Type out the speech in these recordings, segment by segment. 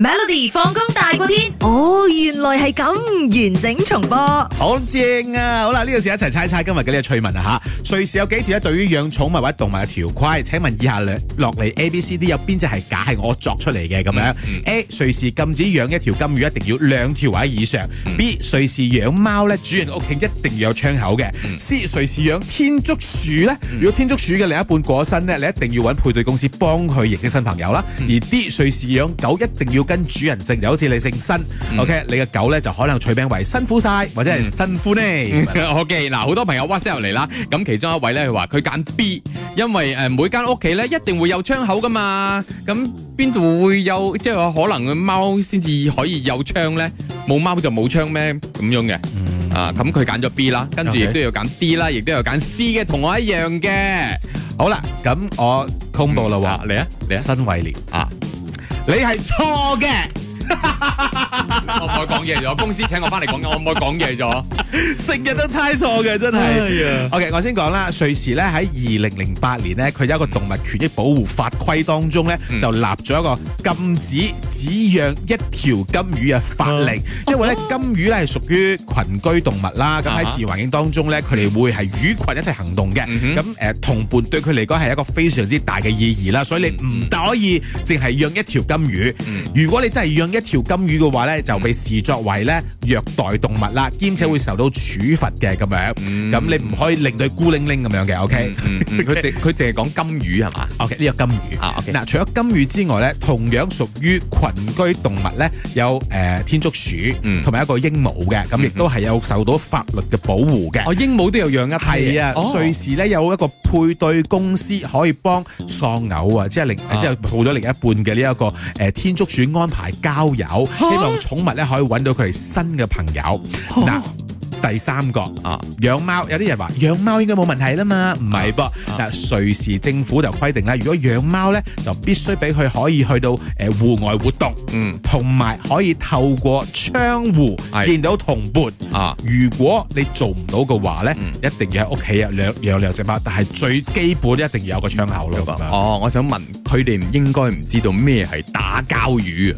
Melody 放工大過天， 哦，原來係咁，完整重播。 好正啊！好啦，呢個時候一齊猜猜今日嘅呢個趣聞啊吓。瑞士有幾條咧對於養寵物或者動物嘅條規？請問以下落嚟 A、B、C、D 有邊隻係假係我作出嚟嘅咁樣？A. 瑞士禁止養一條金魚一定要2條或者以上。B. 瑞士養貓咧，主人屋企一定要有窗口嘅。C. 瑞士養天竺鼠咧，如果天竺鼠嘅另一半過身咧，你一定要揾配對公司幫佢認識新朋友啦。而 D. 瑞士養狗一定要跟主人姓，就好似你姓新，OK， 你嘅狗咧就可能取名為辛苦晒或者係辛苦呢。 OK， 嗱，好多朋友 WhatsApp 入嚟啦，咁其中一位咧佢話佢揀 B， 因為每間屋企咧一定會有窗口噶嘛，咁邊度會有即係話可能貓先至可以有窗咧？冇貓就冇窗咩？咁樣嘅，咁佢揀咗 B 啦，跟住亦都有揀 D 啦，亦都有揀 C 嘅，同我一樣嘅。 好啦，咁我公布啦喎， 嚟啊， 新偉廉啊，你係錯嘅。 我唔可以講嘢咗，公司請我翻嚟講，我唔可以講嘢咗， 成日都猜錯嘅，真係。OK， 我先講啦，瑞士咧喺2008年咧，佢有一個動物權益保護法規當中咧，就立咗一個禁止只養一條金魚嘅法令，因為咧金魚咧係屬於群居動物啦，咁喺自然環境當中咧，佢哋會係與群一齊行動嘅，咁同伴對佢嚟講係一個非常之大嘅意義啦，所以你唔可以淨係養一條金魚，如果你真係養一條金魚嘅話咧，就被視作為咧虐待動物啦，兼且會受到處罰嘅咁樣。咁你唔可以令到佢孤零零咁樣嘅。OK， 佢淨係講金魚係嘛 ？OK， 呢個金魚。OK， 嗱，除咗金魚之外咧，同樣屬於群居動物咧，有天竺鼠同埋一個鸚鵡嘅，咁亦都係有受到法律嘅保護嘅。 哦，鸚鵡都有養一批。 係啊，瑞士咧有一個配對公司可以幫喪偶啊，即係抱咗另一半嘅呢一個天竺鼠安排交友，希望寵物咧可以揾到佢哋新嘅朋友。嗱，第三個養貓，有啲人話養貓應該冇問題啦嘛，唔係噃。嗱，瑞士政府就規定啦，如果養貓咧就必須俾佢可以去到戶外活動，同埋可以透過窗戶見到同伴。如果你做唔到嘅話咧，一定要喺屋企養兩隻貓，但係最基本一定要有個窗口咯。 哦，我想問佢哋應該唔知道咩係打交魚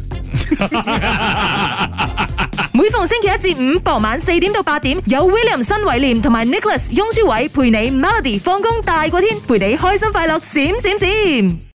啊？ 每逢星期一至五傍晚4點到8點，有 William 新偉廉同埋 Nicholas 雍舒偉陪你 Melody 放工大過天，陪你開心快樂閃閃閃。